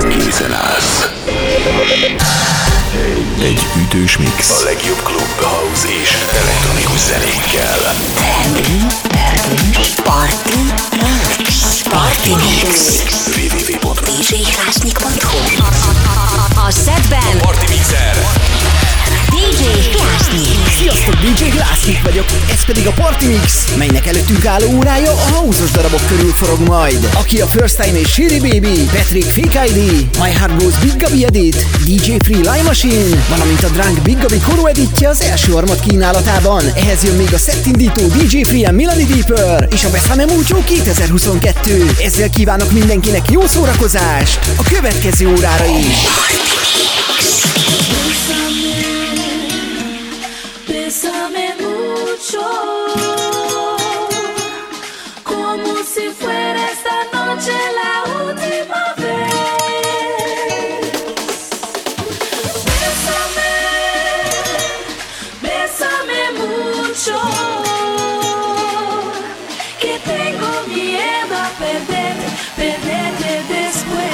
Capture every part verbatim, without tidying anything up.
készen állsz. Egy ütős mix a legjobb klub, house és elektronikus zenékkel. Party Mix. Party Mix. double-u double-u double-u pont dé dzsé Krasnyik pont hu. A setben Party Mixer dé dzsé Krasnyik. Sziasztok, dé dzsé Krasnyik vagyok, ez pedig a Party Mix, melynek előttünk álló órája a house-os darabok körül forog majd. Aki a First Time és Shiri Baby, Patrick Fake i dé, My Heart Goes Big Gabi Edit, dé dzsé Free Live Machine, valamint a Drunk Big Gabi Koro editje az első harmad kínálatában. Ehhez jön még a szettindító dé dzsé Free and Melody Deeper és a Besame Mucho kétezer-huszonkettő. Ezzel kívánok mindenkinek jó szórakozást a következő órára is. Bésame mucho, como si fuera esta noche la última vez. Bésame, bésame mucho, que tengo miedo a perderte, perderte después.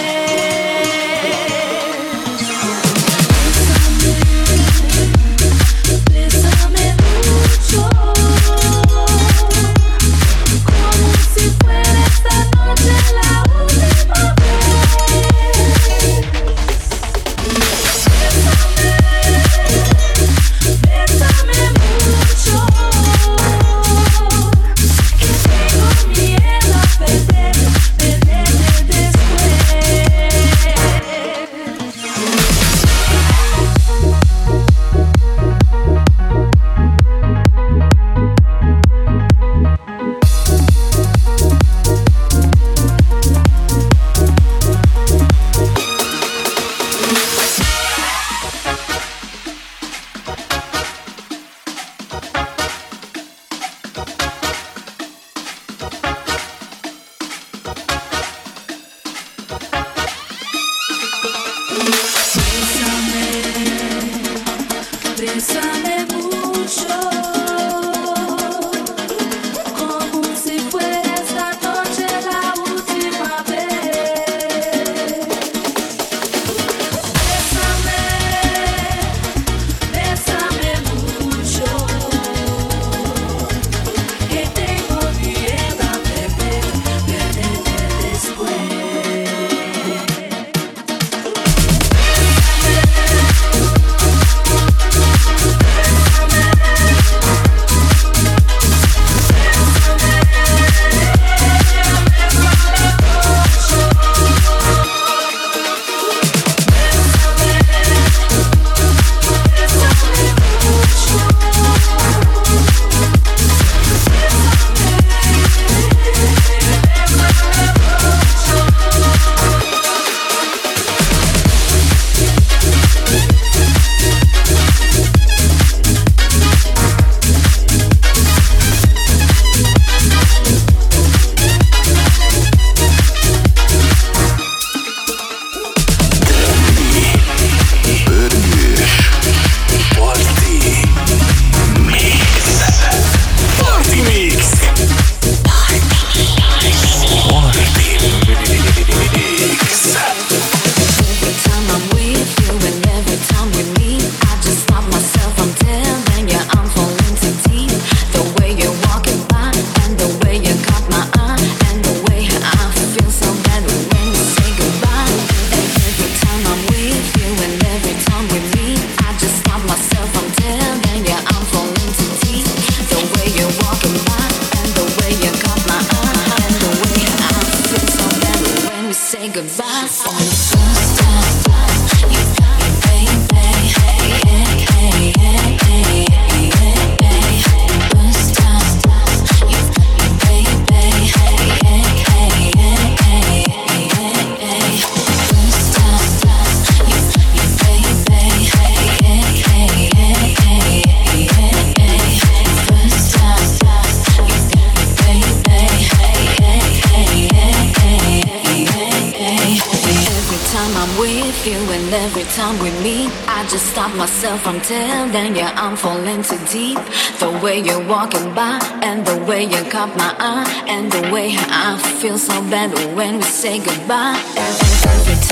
From telling you I'm falling too deep. The way you're walking by and the way you caught my eye and the way I feel so bad when we say goodbye. Every, every time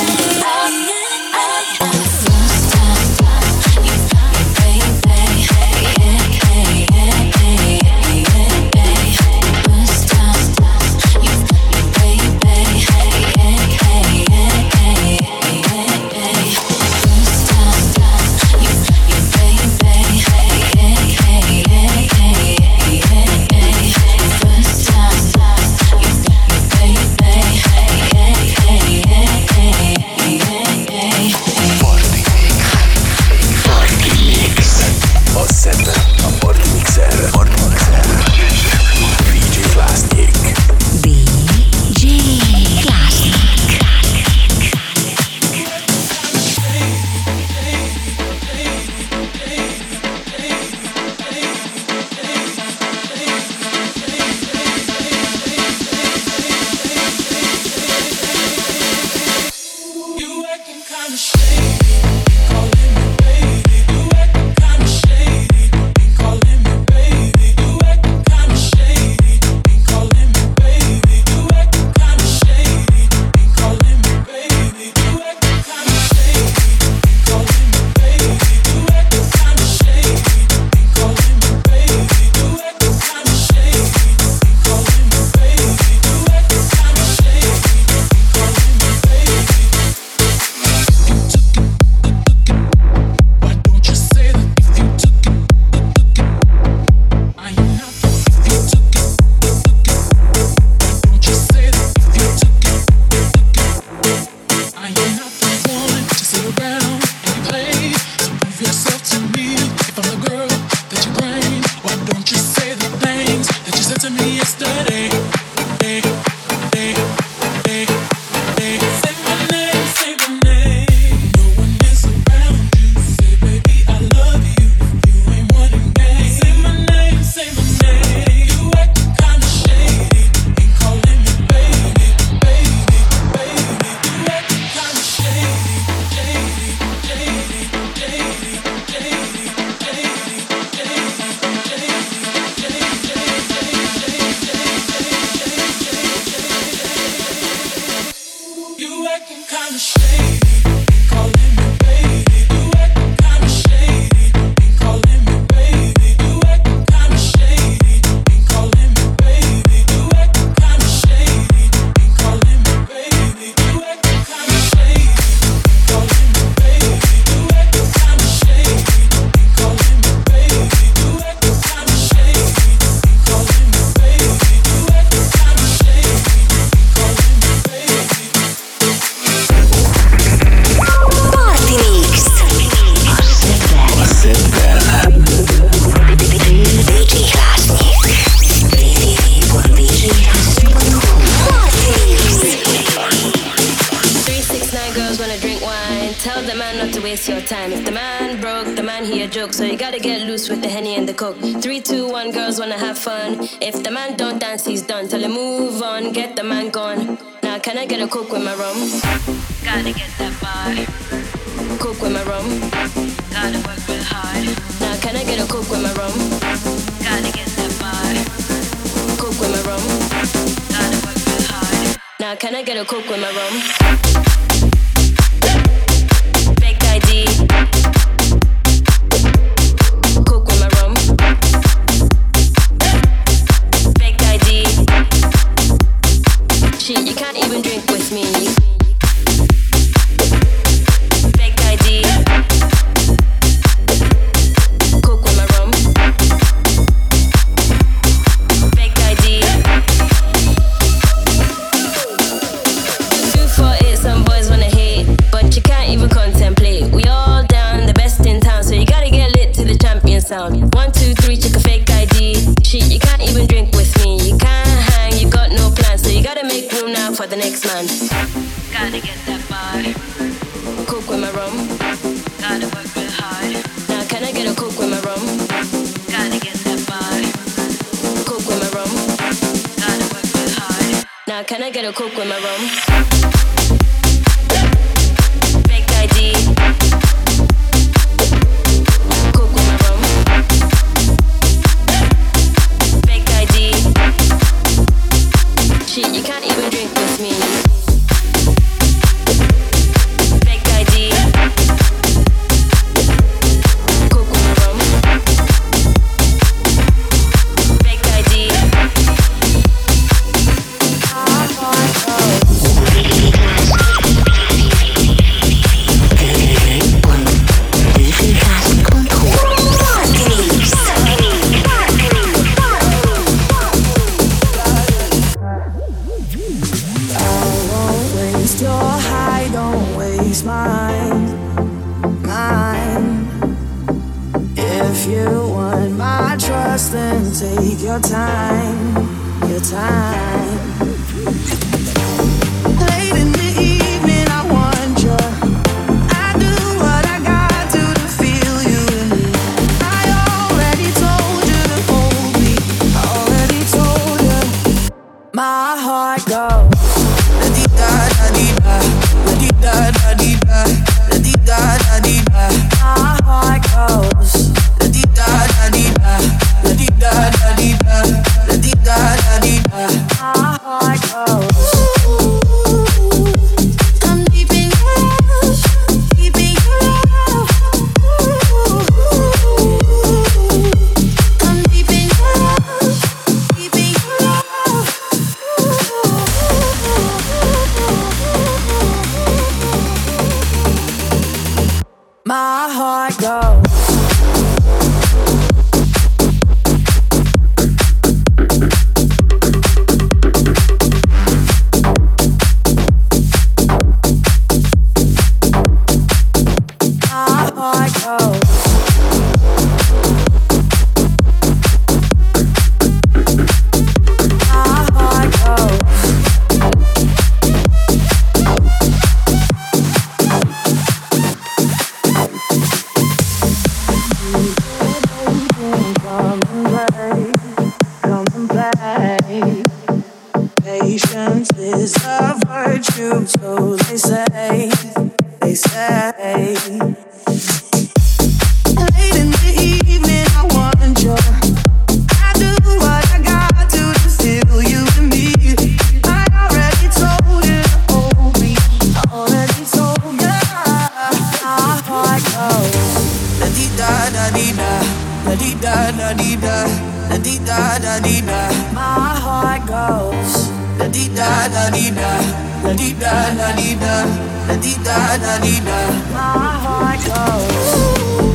So you gotta get loose with the Henny and the Coke. Three, two, one, girls wanna have fun. If the man don't dance, he's done. Tell him move on, get the man gone. Now can I get a Coke with my rum? Gotta get that bar. Coke with my rum. Gotta work real hard. Now can I get a Coke with my rum? Gotta get that bar. Coke with my rum. Gotta work real hard. Now can I get a Coke with my rum? Fake I D. You can't even drink with me. Fake I D. Coke with my rum. Fake I D. two four eight, some boys wanna hate, but you can't even contemplate. We all down, the best in town, so you gotta get lit to the champion sound. One, two, three, check a fake I D. Shit, you can't even drink with me. You can't hang, you got no plans, so you gotta make room now for the next man. Gotta get that bar. Coke with my rum. Gotta work real hard. can I get a coke with my rum? Fake I D. Coke with my rum. Fake I D. Shit, you can't even drink with me. Fake I D. Coke with my rum. Fake I D. Then take your time, your time. Late in the evening, I want you. I do what I got to to feel you in me. I already told you to hold me. I already told you. My heart goes la di da da di da, la di da da di da, la di da da di da. My heart goes la di da da di da. La di da da di da, la di da da di da. My heart goes. I'm deep in love, deep in love. I'm deep in love, deep in love. My heart goes. Patience is a virtue, so they say, they say. Late in the evening, I want you. I do what I got to to feel you in me. I already told you to hold me. I already told you. My heart goes la di da da di da, la di da da di da, la di da da di da. My heart goes. La di da da di da, la di da da di da, la di da da di da. My heart goes.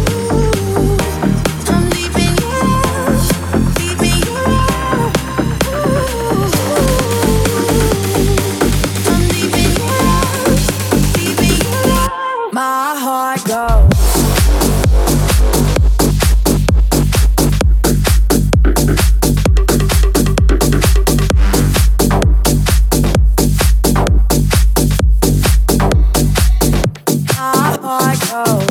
I'm deep in love, deep in love. I'm deep in love, deep in love. My heart goes. Oh.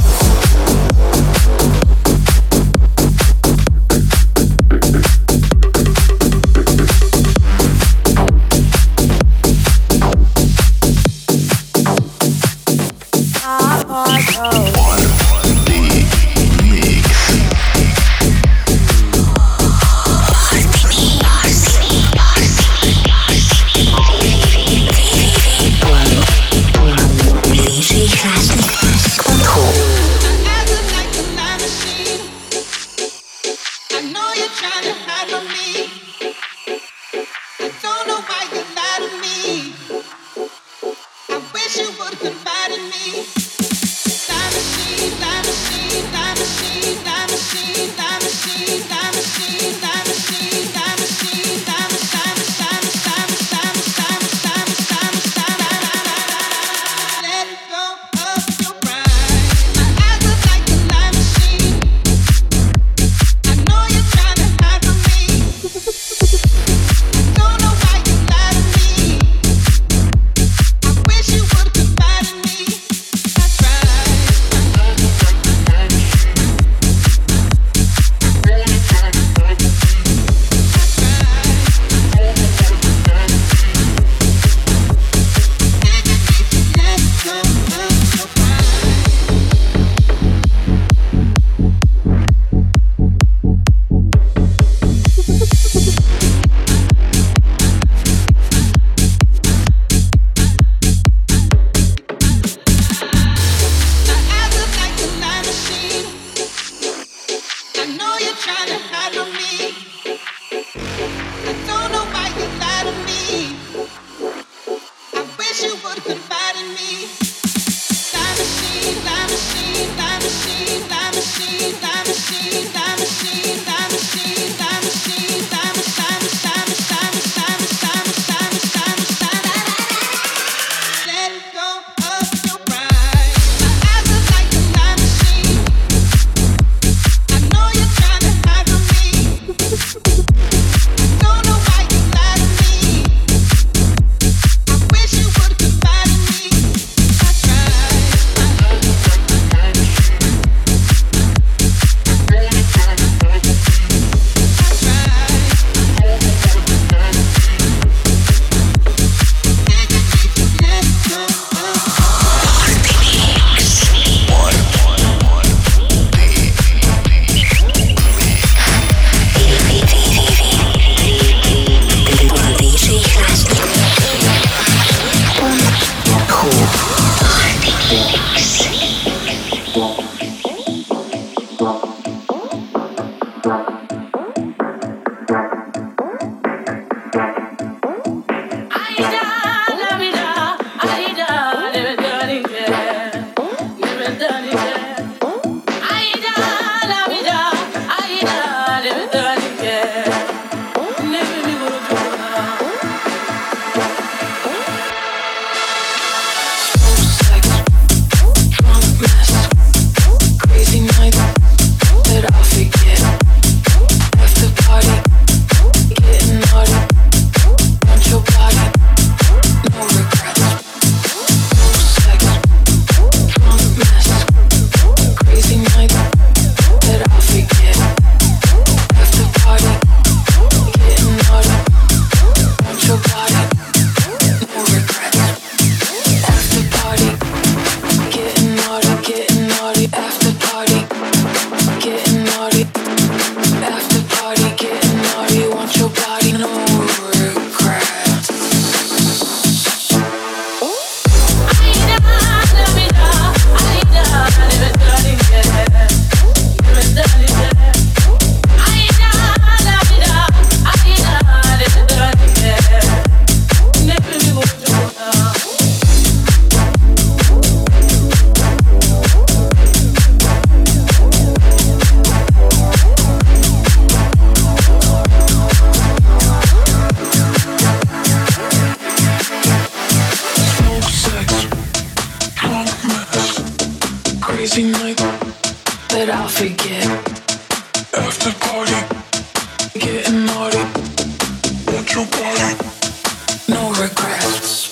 that I'll forget. After party, getting naughty. Want your body, no regrets.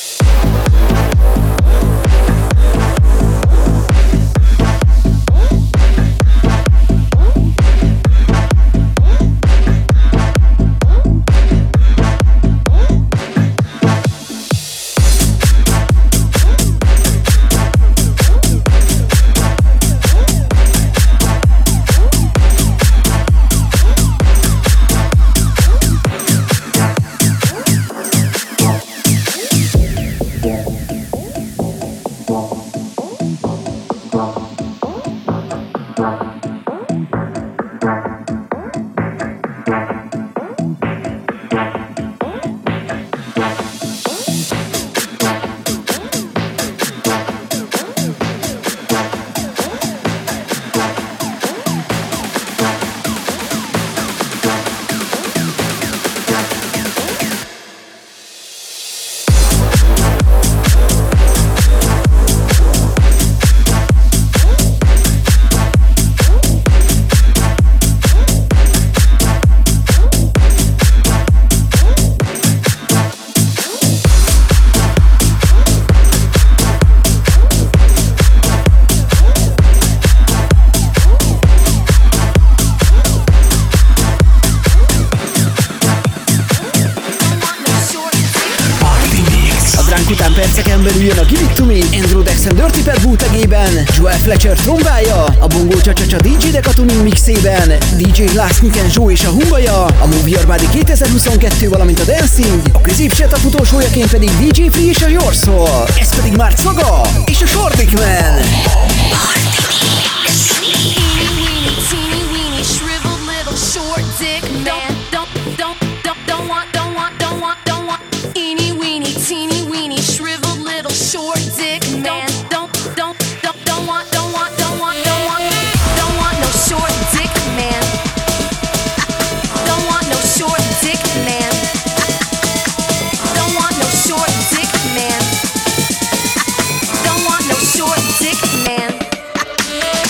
Perceken belül jön a Give It To Me, Andrew Dexon Dirty Pet bootlegében, Joel Fletcher trombája, a Bongo Csa-Csa-Csa dé jé Deca Tuning mixében, dé jé Glassnik and Joe és a Humbaja, a Move Your Body kétezer-huszonkettő, valamint a Dancing, a középsetup utolsójaként pedig dé jé Free és a Your Soul, ez pedig már Caga és a Shortdick Man. Short dick man.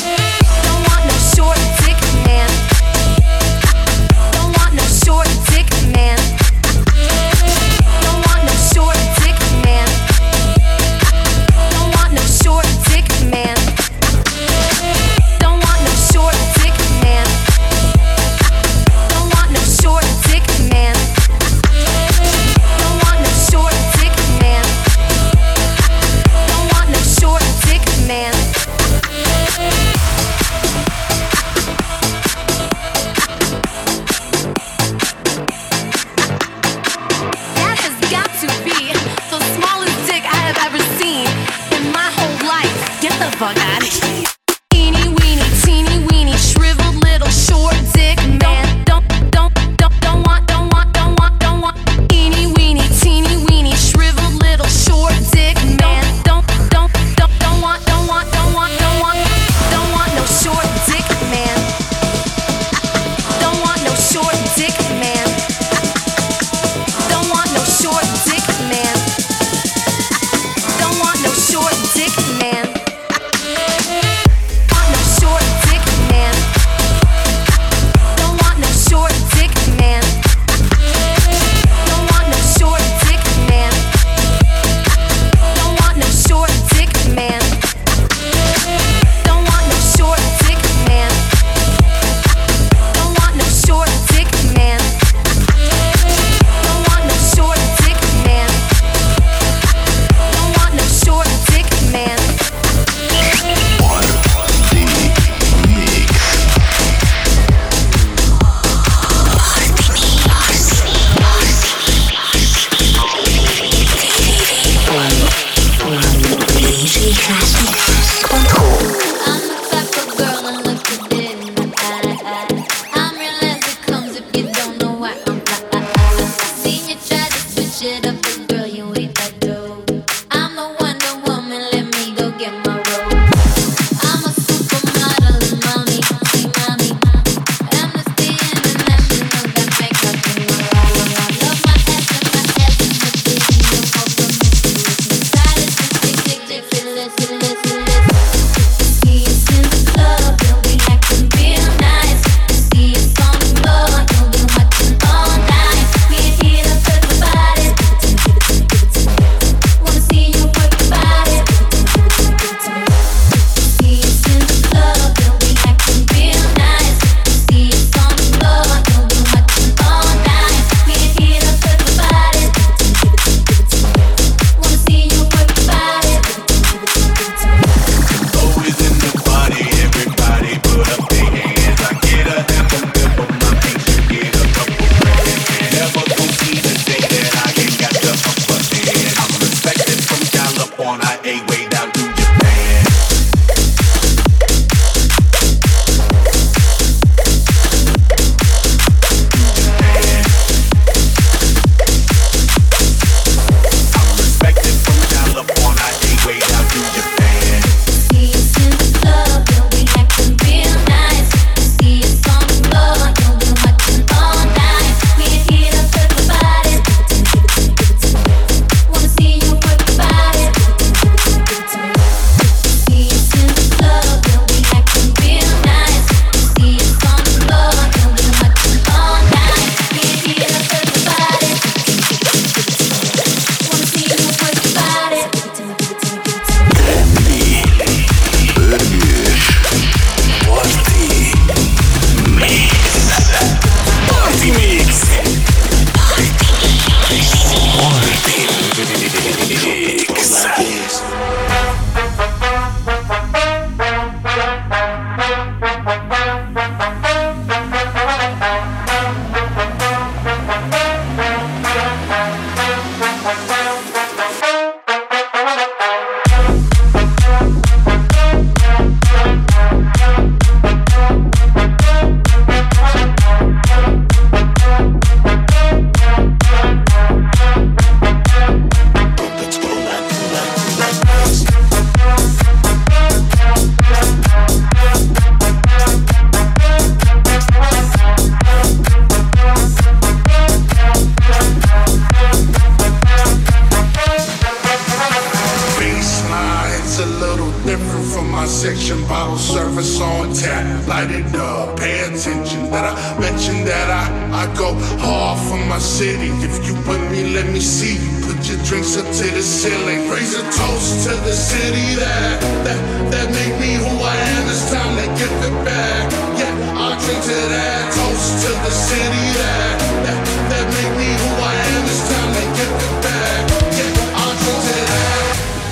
tap, light it up, pay attention that I mentioned that I, I go hard for my city. If you with me, let me see you. Put your drinks up to the ceiling. Raise a toast to the city that, that, that made me who I am. It's time to give it back. Yeah, I'll drink to that. Toast to the city that, that, that made me who I am. It's time to give it back. Yeah, I'll drink to that.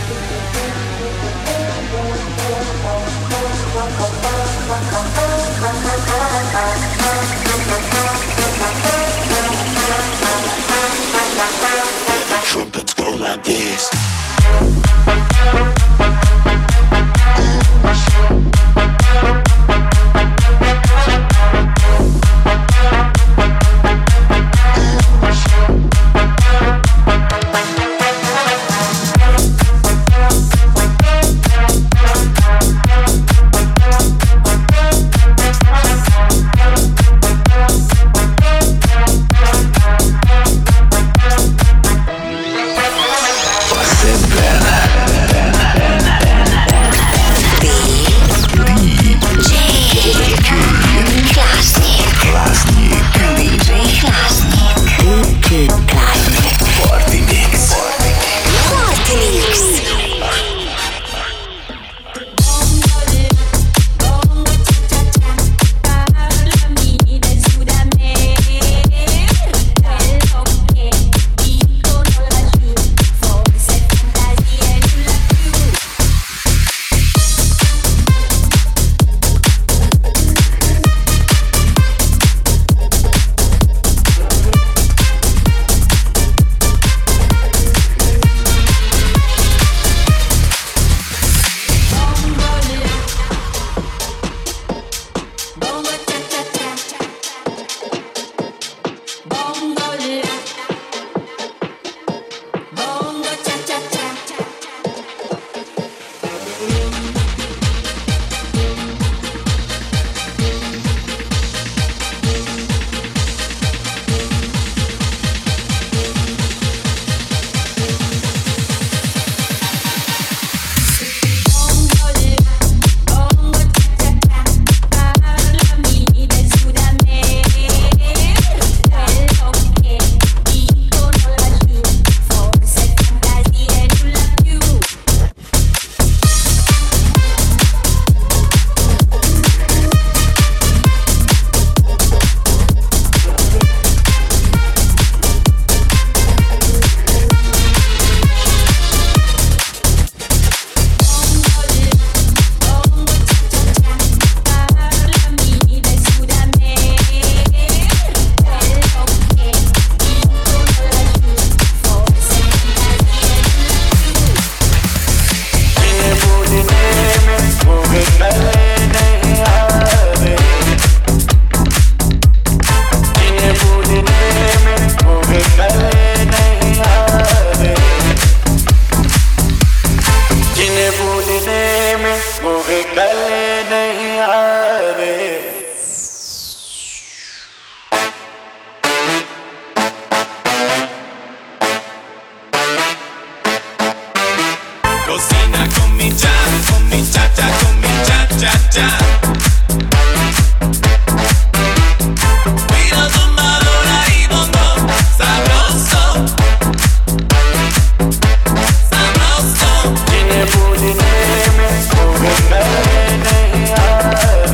Trumpets go like this. Tiene pudineme, mujer,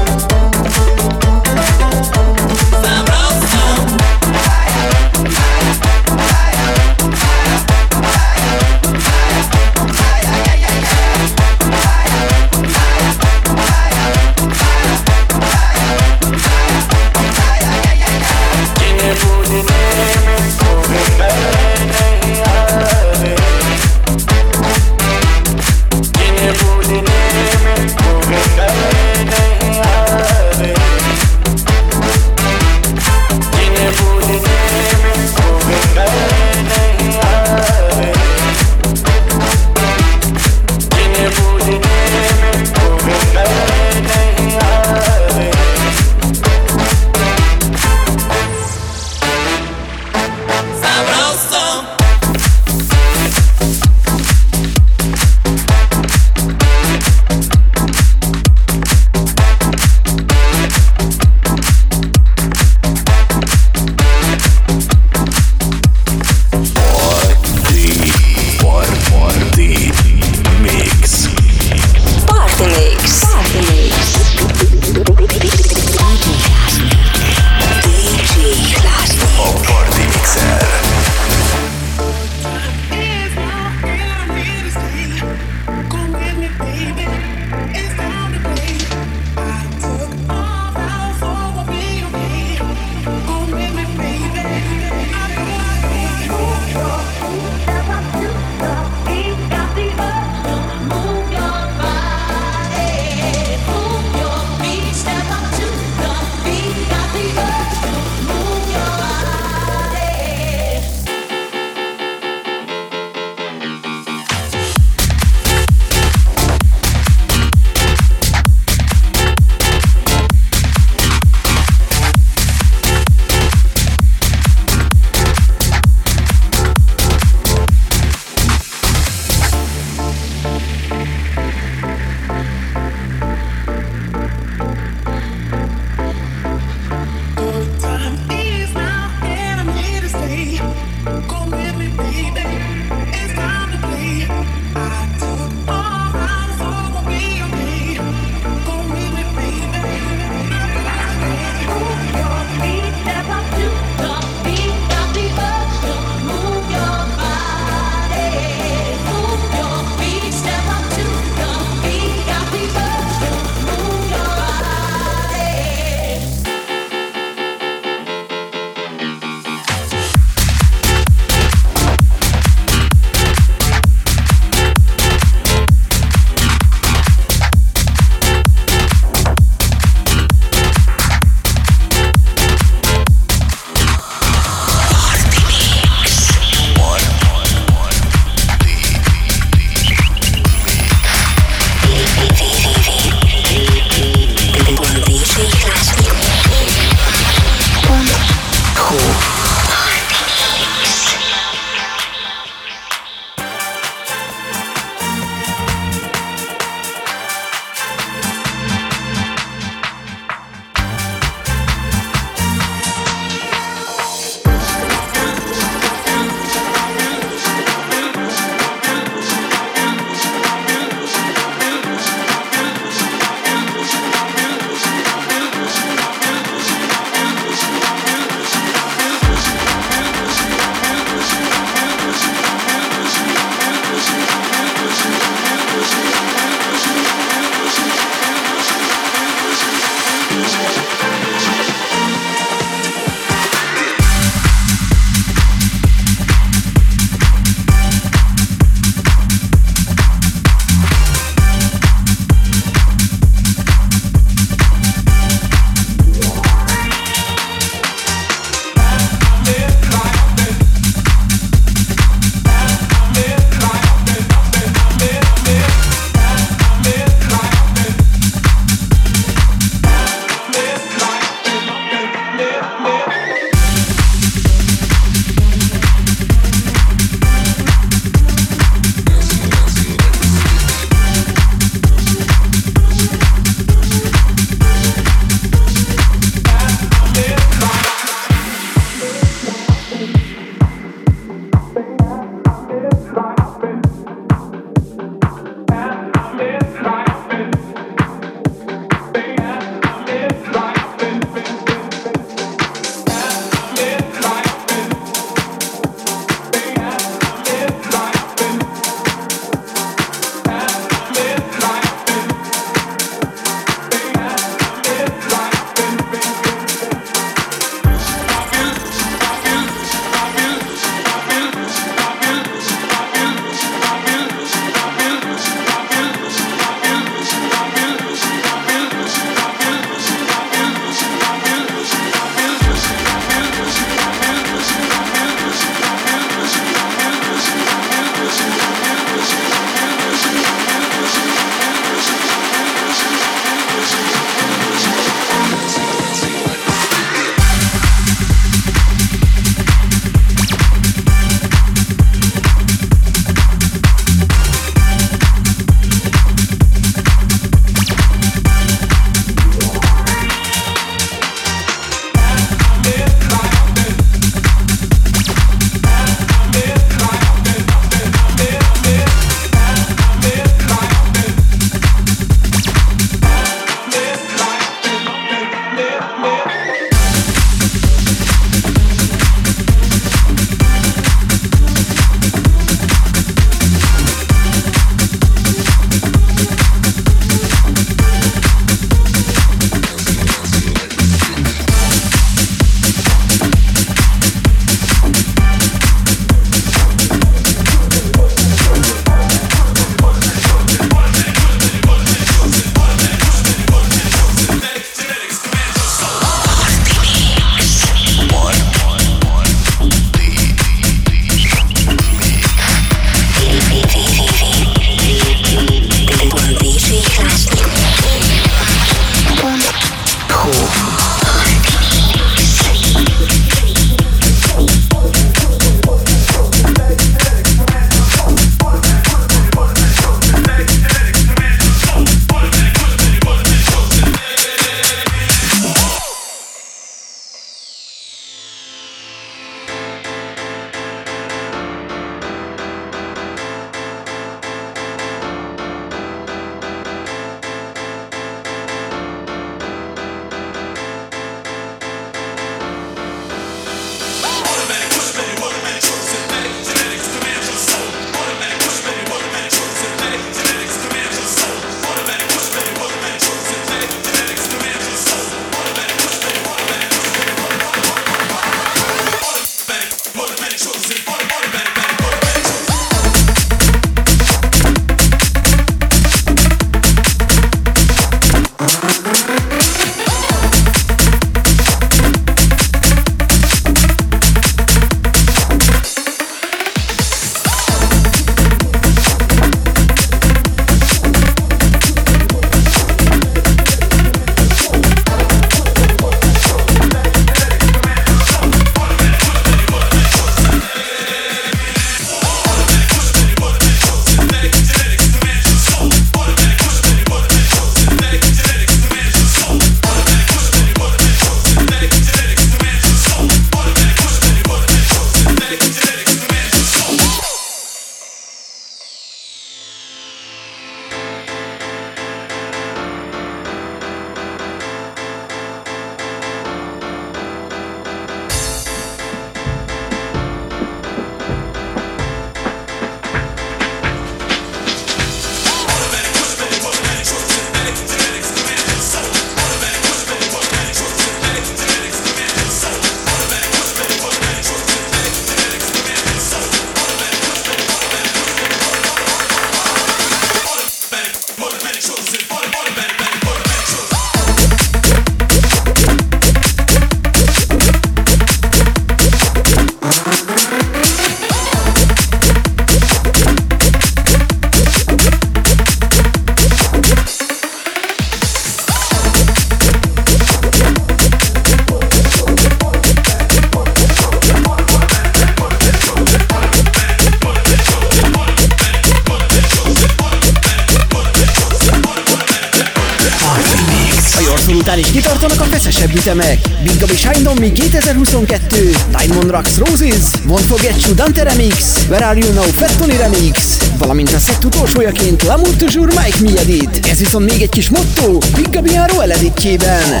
Után is kitartanak a feszesebb ütemek. Big Gabi Shine On Me kétezer-huszonkettő, Diamond Rocks Roses, Won't Forget You Dante Remix, Where Are You Now Fat Tony Remix, valamint a szett utolsójaként L'amour toujours Mike Me Edit. Ez viszont még egy kis motto Big Gabi Roel editjében.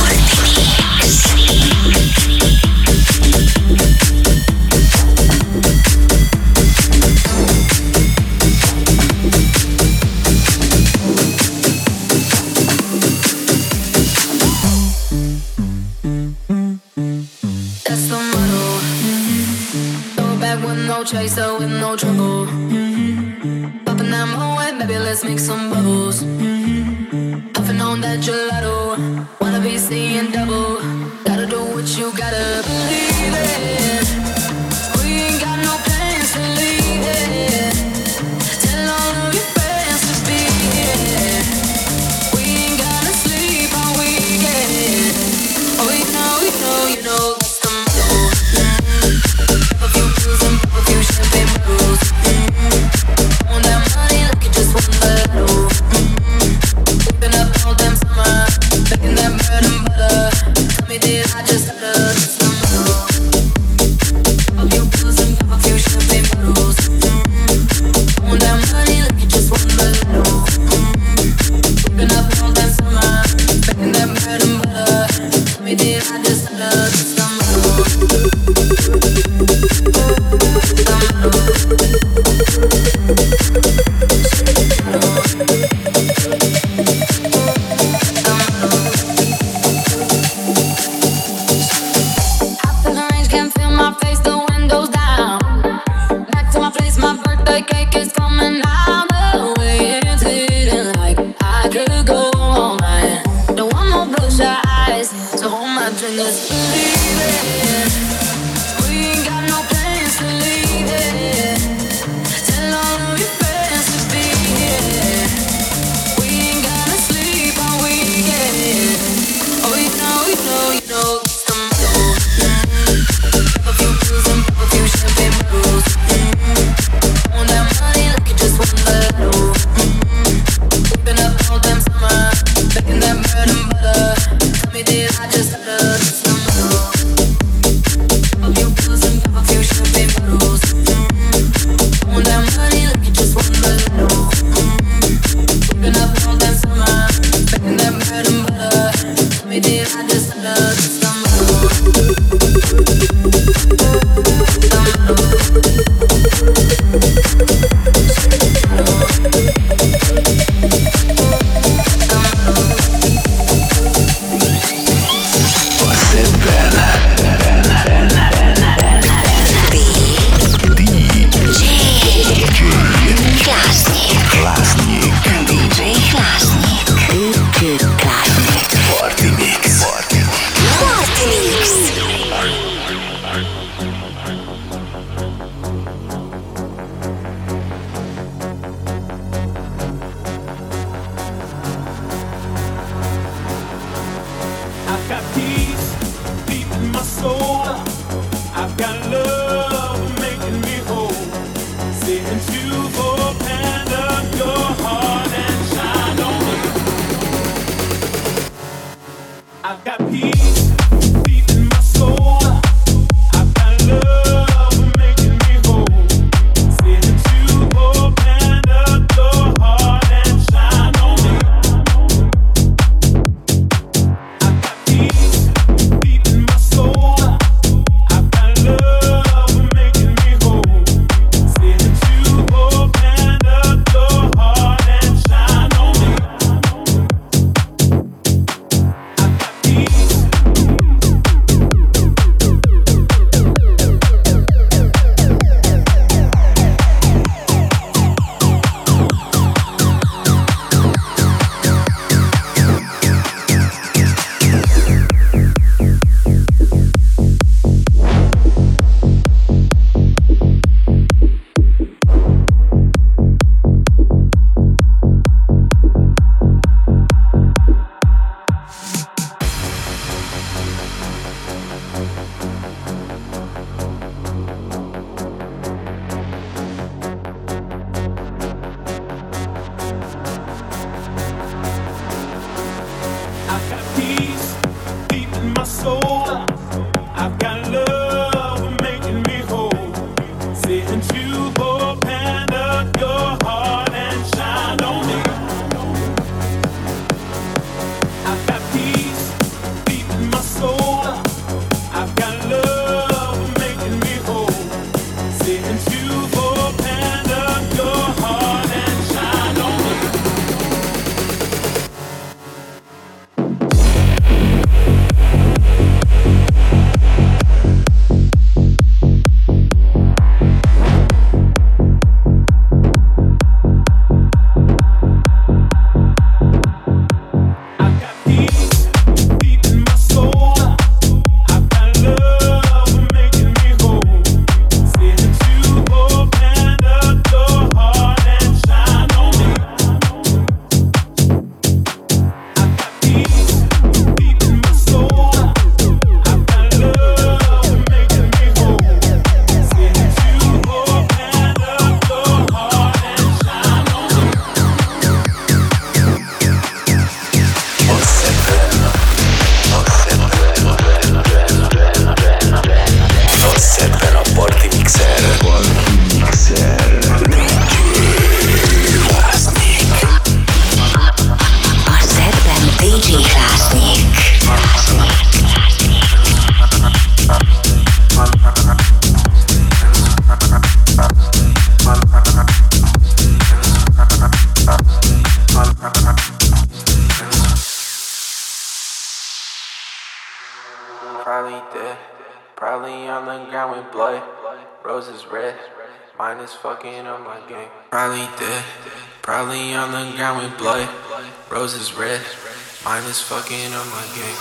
Chaser with no trouble. Popping that Moet, maybe let's make some bubbles. Puffing on that gelato, wanna be seeing double. Gotta do what you gotta believe it. We ain't got no plans to leave it. Tell all of your friends to be here. We ain't gonna sleep all weekend. Oh, you know, you know, you know that's the motto. Pop a few pills and pop a few champagne bottles. Mm-hmm. On that money like you just won the lotto. Mm-hmm. Keeping up all damn summer, making that bread and butter. Tell me did I just stutter? That's the motto. Fucking on my game. Probably dead. Probably on the ground with blood. Roses red. Mine is fucking on my game.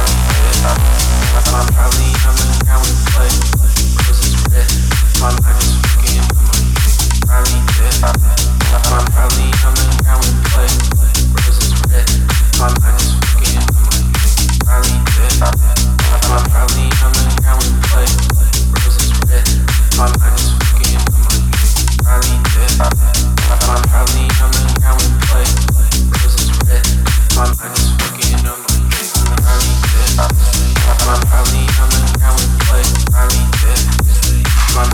I'm probably on the ground with blood. Roses red. My mind is fucking on my game. Probably dead. I'm probably on the ground with blood. Roses red. My mind is fucking on my game. Probably dead. I'm probably on the ground with blood. Roses red. My mind is fucking on my game. Probably dead. I'm probably on the ground with play. Roses red. My mind is fucking on my game. Probably dead. I'm probably on the ground with play. Probably dead. My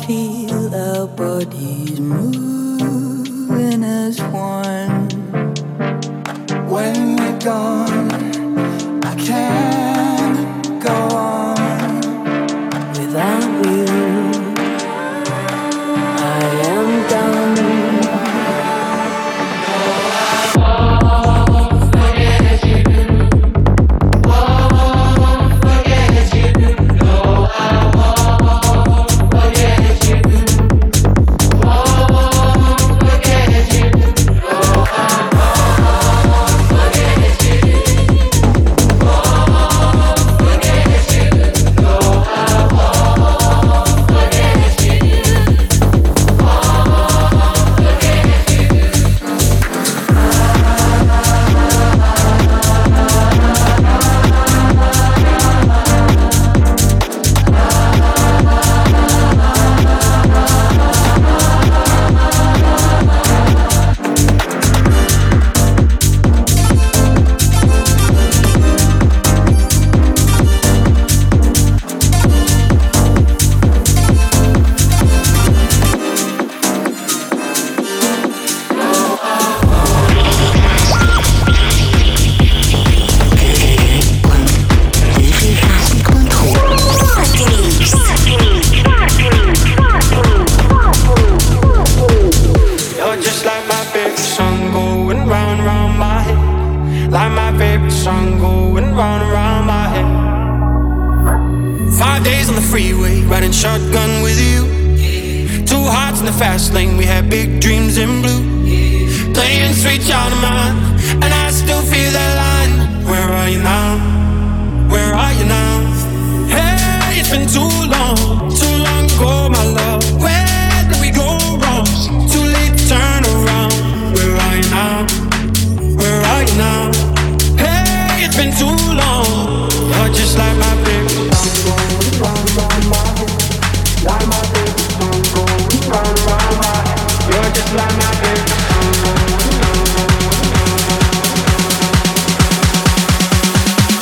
feel our bodies moving as one. When you're gone, I can't go on without you. I am done.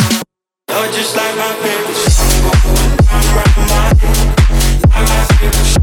Just like my favorite song going round, round my head. Like my favorite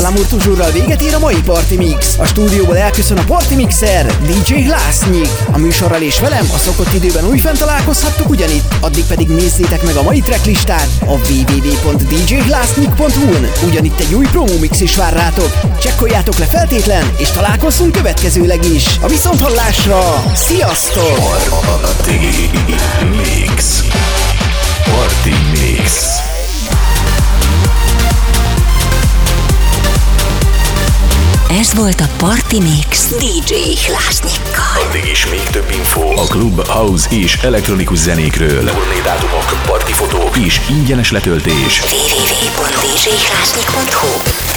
L'amour toujours-ral véget ér a mai Party Mix. A stúdióból elköszön a Party Mixer, dé dzsé Hlásnyik. A műsorral és velem a szokott időben újfent találkozhattok ugyanitt, addig pedig nézzétek meg a mai tracklistát a double-u double-u double-u pont d j hlásnyik pont hu n. Ugyanitt egy új promo mix is vár rátok. Csekkoljátok le feltétlen, és találkozzunk következőleg is. A viszonthallásra, sziasztok! Party Mix. Party Mix. Ez volt a Party Mix dé dzsé Hlásnyikkal. Addig is még több info a klub, house és elektronikus zenékről. Turnédátumok, partifotók és ingyenes letöltés. double-u double-u double-u pont d j hlásnyik pont hu